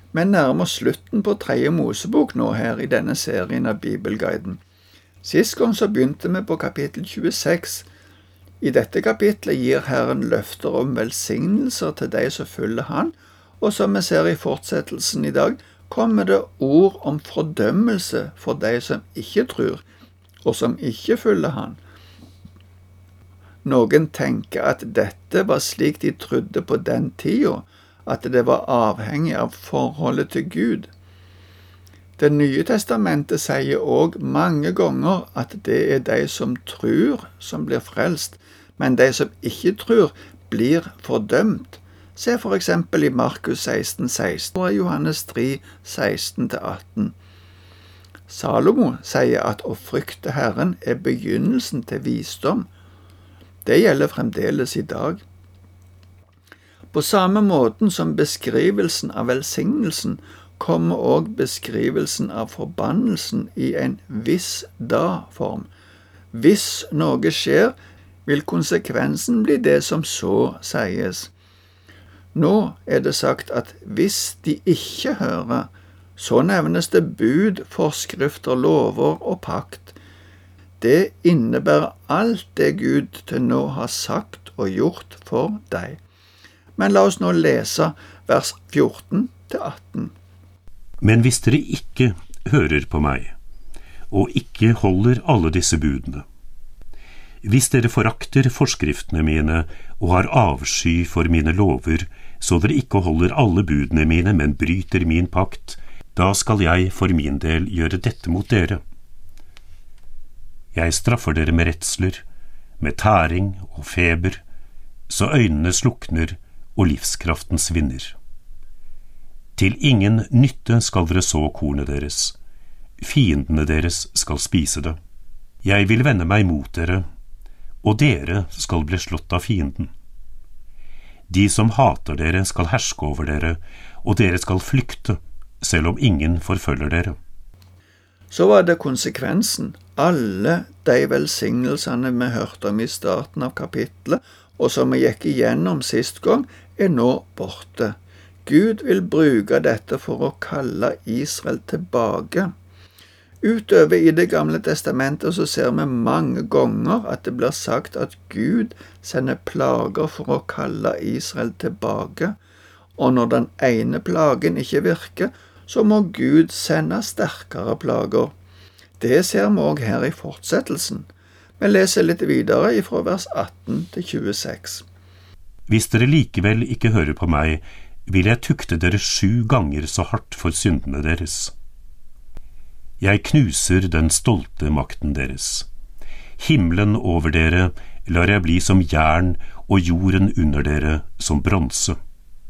Men nærmer slutten på 3. Mosebok nå her i denne serien av Bibelguiden. Sist gang så begynte vi på kapittel 26. I dette kapitlet gir Herren løfter om velsignelser til de som følger han, og som vi ser i fortsettelsen i dag, kommer det ord om fordømmelse for de som ikke tror, og som ikke følger han. Noen tenker at dette var slik de trodde på den tiden, at det var avhengig av forholdet til Gud. Det nye testamentet sier også mange ganger at det er de som tror som blir frelst, men de som ikke tror blir fordømt. Se for eksempel i Markus 16:16 og Johannes 3:16-18. Salomo sier at å frykte Herren er begynnelsen til visdom. Det gjelder fremdeles i dag. På samme måten som beskrivelsen av velsignelsen kommer også beskrivelsen av forbannelsen i en viss da-form. Hvis noe skjer, vil konsekvensen bli det som så sies. Nå er det sagt at hvis de ikke hører, så nevnes det bud, forskrifter, lover og pakt. Det innebærer alt det Gud til nå har sagt og gjort for deg. Men la oss nå lese vers 14-18. Men hvis dere ikke hører på meg, og ikke holder alle disse budene, hvis dere forakter forskriftene mine og har avsky for mine lover, så dere ikke holder alle budene mine, men bryter min pakt, da skal jeg for min del gjøre dette mot dere. Jeg straffer dere med redsler, med tæring og feber, så øynene slukner og livskraften svinner. Til ingen nytte skal dere så kornet deres. Fiendene deres skal spise det. Jeg vil vende meg mot dere, og dere skal bli slått av fienden. De som hater dere skal herske over dere, og dere skal flykte, selv om ingen forfølger dere. Så var det konsekvensen. Alle de velsignelsene vi hørte om i starten av kapitlet, og som vi gikk igjennom sist gang, er nå borte. Gud vil bruke dette for å kalle Israel tilbake. Utover i Det gamle testamentet så ser vi mange ganger at det blir sagt at Gud sender plager for å kalle Israel tilbake, og når den ene plagen ikke virker, så må Gud sende sterkere plager. Det ser vi også her i fortsettelsen. Vi leser litt videre fra vers 18-26. Hvis dere likevel ikke hører på meg, vil jeg tukte dere 7 ganger så hardt for syndene deres. Jeg knuser den stolte makten deres. Himmelen over dere lar jeg bli som jern, og jorden under dere som bronse.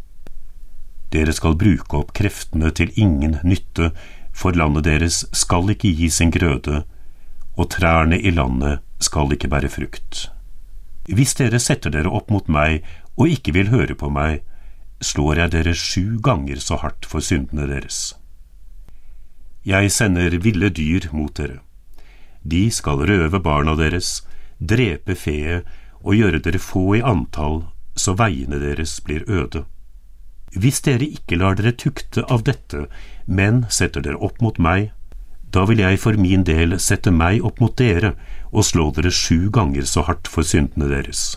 Dere skal bruke opp kreftene til ingen nytte, for landet deres skal ikke gi sin grøde, og trærne i landet skal ikke bære frukt. Hvis dere setter dere opp mot meg og ikke vil høre på meg, slår jeg dere 7 ganger så hardt for syndene deres. Jeg sender ville dyr mot dere. De skal røve barna deres, drepe feet og gjøre dere få i antall, så veiene deres blir øde. Hvis dere ikke lar dere tukte av dette, men setter dere opp mot meg, da vil jeg for min del sette meg opp mot dere og slå dere 7 ganger så hardt for syndene deres.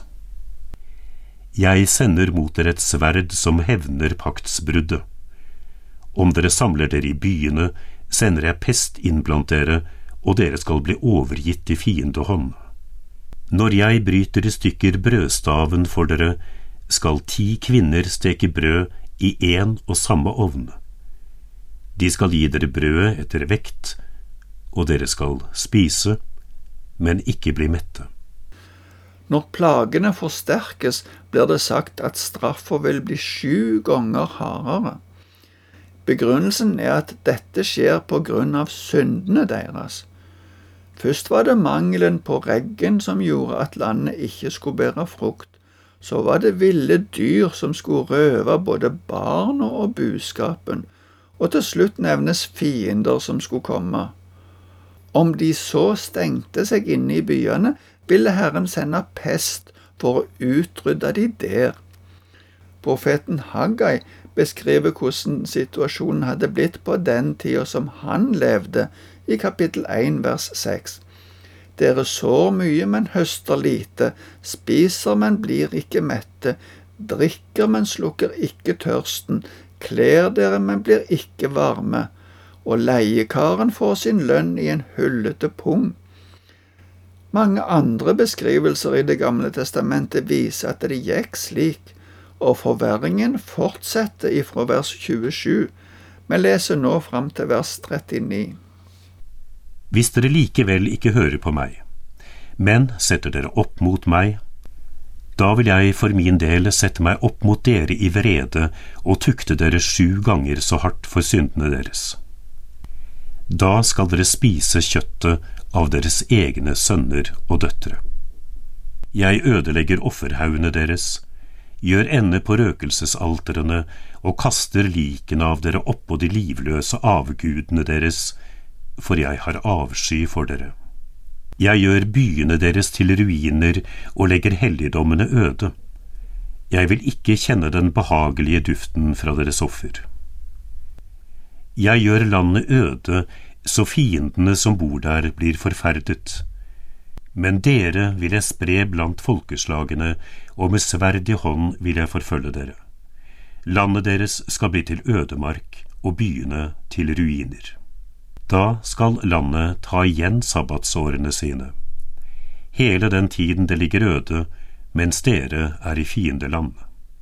Jeg sender mot dere et sverd som hevner paktsbruddet. Om dere samler dere i byene, sender jeg pest inn blant dere, og dere skal bli overgitt i fiendehånd. Når jeg bryter i stykker brødstaven for dere, skal 10 kvinner steke brød i en og samme ovn. De skal gi dere brødet etter vekt, og dere skal spise, men ikke bli mette. Når plagene forsterkes, blir det sagt at straffen vil bli 7 ganger hardere. Begrunnelsen er at dette skjer på grunn av syndene deres. Først var det mangelen på regn som gjorde at landet ikke skulle bære frukt. Så var det ville dyr som skulle røve både barna og buskapen, og til slutt nevnes fiender som skulle komme. Om de så stengte seg inne i byene, ville Herren sende pest for å utrydde de der. Profeten Haggai beskriver hvordan situasjonen hadde blitt på den tiden som han levde, i kapittel 1, vers 6. Dere sår mye, men høster lite, spiser, men blir ikke mette, drikker, men slukker ikke tørsten, kler dere, men blir ikke varme, og leiekaren får sin lønn i en hullete pung. Mange andre beskrivelser i Det gamle testamentet viser at det gikk slik, og forverringen fortsetter ifra vers 27. Vi leser nå fram til vers 39. Hvis dere likevel ikke hører på meg, men setter dere opp mot meg, da vil jeg for min del sette meg opp mot dere i vrede og tukte dere 7 ganger så hardt for syndene deres. Da skal dere spise kjøttet av deres egne sønner og døtre. Jeg ødelegger offerhaugene deres, gjør ende på røkelsesalterene og kaster likene av dere oppå de livløse avgudene deres, for jeg har avsky for dere. Jeg gjør byene deres til ruiner og legger helligdommene øde. Jeg vil ikke kjenne den behagelige duften fra deres offer. Jeg gjør landet øde, så fiendene som bor der blir forferdet. Men dere vil jeg spre blant folkeslagene, og med sverd i hånd vil jeg forfølge dere. Landet deres skal bli til ødemark, og byene til ruiner. Da skal landet ta igjen sabbatsårene sine. Hele den tiden det ligger øde, mens dere er i fiendeland.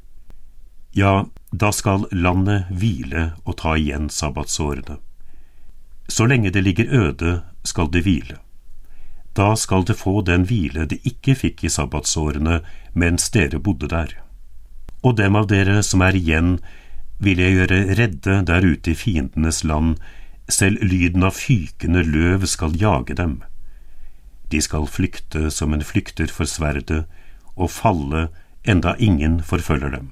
Ja, da skal landet hvile og ta igjen sabbatsårene. Så lenge det ligger øde, skal det hvile. Da skal det få den hvile det ikke fikk i sabbatsårene mens dere bodde der. Og dem av dere som er igjen, vil jeg gjøre redde der ute i fiendenes land, selv lyden av fykende løv skal jage dem. De skal flykte som en flykter for sverdet, og falle enda ingen forfølger dem.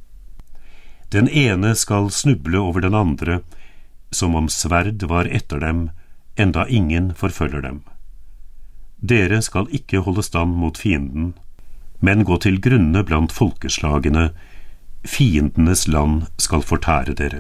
Den ene skal snuble over den andre, som om sverd var etter dem, enda ingen forfølger dem. Dere skal ikke holde stand mot fienden, men gå til grunne blant folkeslagene, fiendenes land skal fortære dere.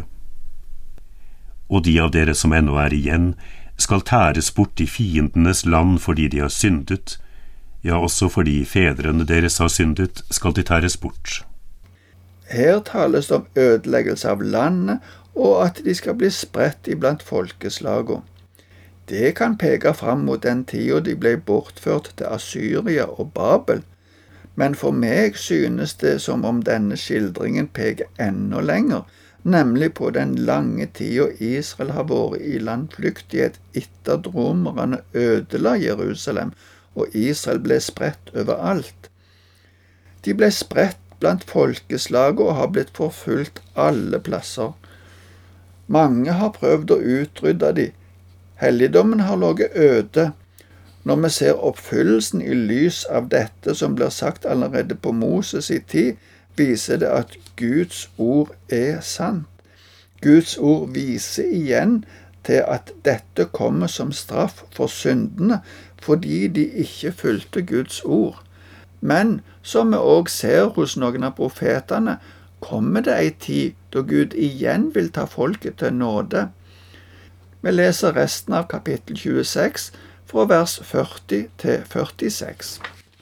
Og de av dere som ennå er igjen, skal tæres bort i fiendenes land fordi de har syndet, ja, også fordi fedrene deres har syndet, skal de tæres bort. Her tales det om ødeleggelse av landet, og at de skal bli spredt iblant folkeslagene. Det kan peke fram mot den tida de ble bortført til Assyria og Babel, men for meg synes det som om denne skildringen peker enda lenger, nemlig på den lange tida Israel har vært i landflyktighet etter at romerne ødela Jerusalem, og Israel ble spredt overalt. De ble spredt blant folkeslag og har blitt forfulgt alle plasser. Mange har prøvd å utrydde de. Helligdommen har ligget øde. Når vi ser oppfyllelsen i lys av dette som blir sagt allerede på Moses i tid, viser det at Guds ord er sant. Guds ord viser igjen til at dette kommer som straff for syndene, fordi de ikke fulgte Guds ord. Men, som vi også ser hos noen av profetene, kommer det en tid da Gud igjen vil ta folket til nåde. Vi leser resten av kapittel 26, fra vers 40 til 46.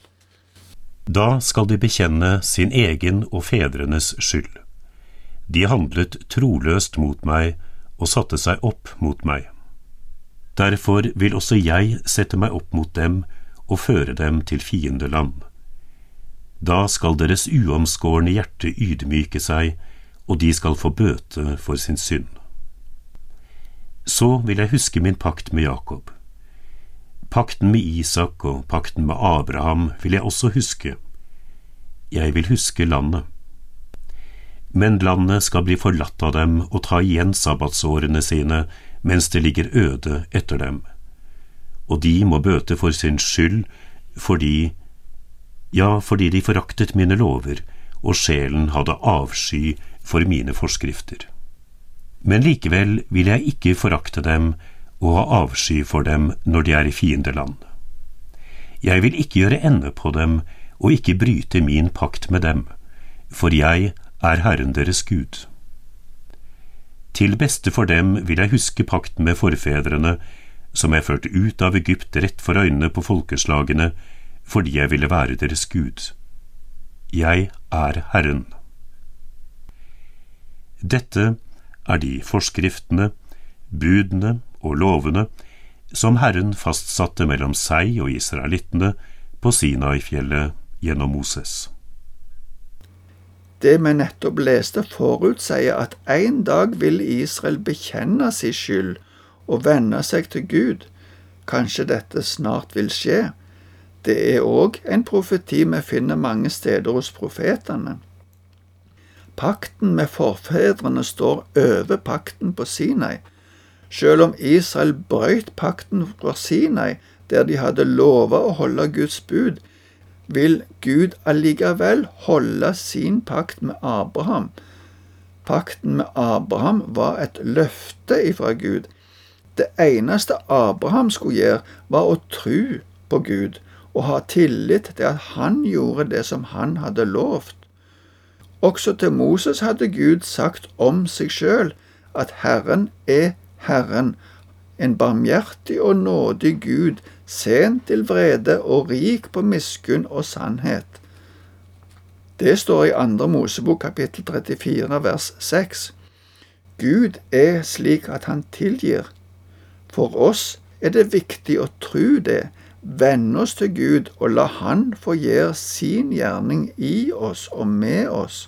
Da skal de bekjenne sin egen og fedrenes skyld. De handlet troløst mot meg og satte seg opp mot meg. Derfor vil også jeg sette meg opp mot dem og føre dem til fiendeland. Da skal deres uomskårne hjerte ydmyke seg, og de skal få bøte for sin synd. Så vil jeg huske min pakt med Jakob. Pakten med Isak og pakten med Abraham vil jeg også huske. Jeg vil huske landet. Men landet skal bli forlatt av dem og ta igjen sabbatsårene sine mens det ligger øde etter dem. Og de må bøte for sin skyld fordi de foraktet mine lover, og sjelen hadde avsky for mine forskrifter. Men likevel vil jeg ikke forakte dem og ha avsky for dem når de er i fiendeland. Jeg vil ikke gjøre ende på dem og ikke bryte min pakt med dem, for jeg er Herren deres Gud. Til beste for dem vil jeg huske pakten med forfedrene, som jeg førte ut av Egypt rett for øynene på folkeslagene, fordi jeg ville være deres Gud. Jeg er Herren. Dette er de forskriftene, budene og lovene som Herren fastsatte mellom seg og israelittene på Sinai-fjellet gjennom Moses. Det vi nettopp leste forutsier at en dag vil Israel bekjenne sin skyld og vende seg til Gud. Kanskje dette snart vil skje. Det er også en profeti vi finner mange steder hos profetene. Pakten med forfedrene står over pakten på Sinai. Selv om Israel brøt pakten fra Sinai, der de hadde lovet å holde Guds bud, vil Gud allikevel holde sin pakt med Abraham. Pakten med Abraham var et løfte ifra Gud. Det eneste Abraham skulle gjøre, var å tro på Gud og ha tillit til at han gjorde det som han hadde lovt. Også til Moses hadde Gud sagt om seg selv at Herren er Herren, en barmhjertig og nådig Gud, sent til vrede og rik på miskunn og sannhet. Det står i 2. Mosebok kapittel 34 vers 6. Gud er slik at han tilgir. For oss er det viktig å tro det, vende oss til Gud og la han få gjøre sin gjerning i oss og med oss.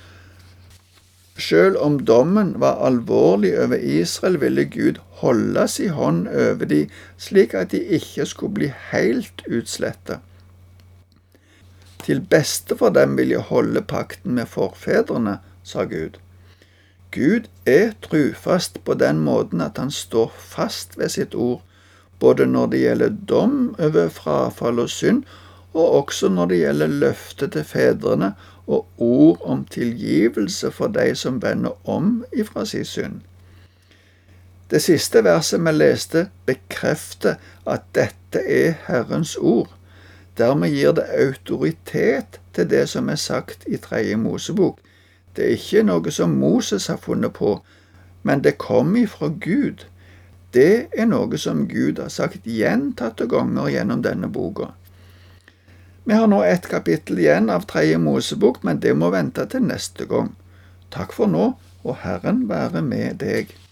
Selv om dommen var alvorlig over Israel, ville Gud holde sin hånd over dem, slik at de ikke skulle bli helt utslettet. Til beste for dem vil jeg holde pakten med forfedrene, sa Gud. Gud er trufast på den måten at han står fast ved sitt ord, både når det gjelder dom over frafall og synd, og også når det gjelder løftet til fedrene og ord om tilgivelse for de som vender om ifra sin synd. Det siste verset vi leste bekrefter at dette er Herrens ord. Dermed gir det autoritet til det som er sagt i 3. Mosebok. Det er ikke noe som Moses har funnet på, men det kom ifra Gud. Det er noe som Gud har sagt gjentatte ganger gjennom denne boka. Vi har nå et kapittel igjen av 3. Mosebok, men det må vente til neste gang. Takk for nå, og Herren være med deg.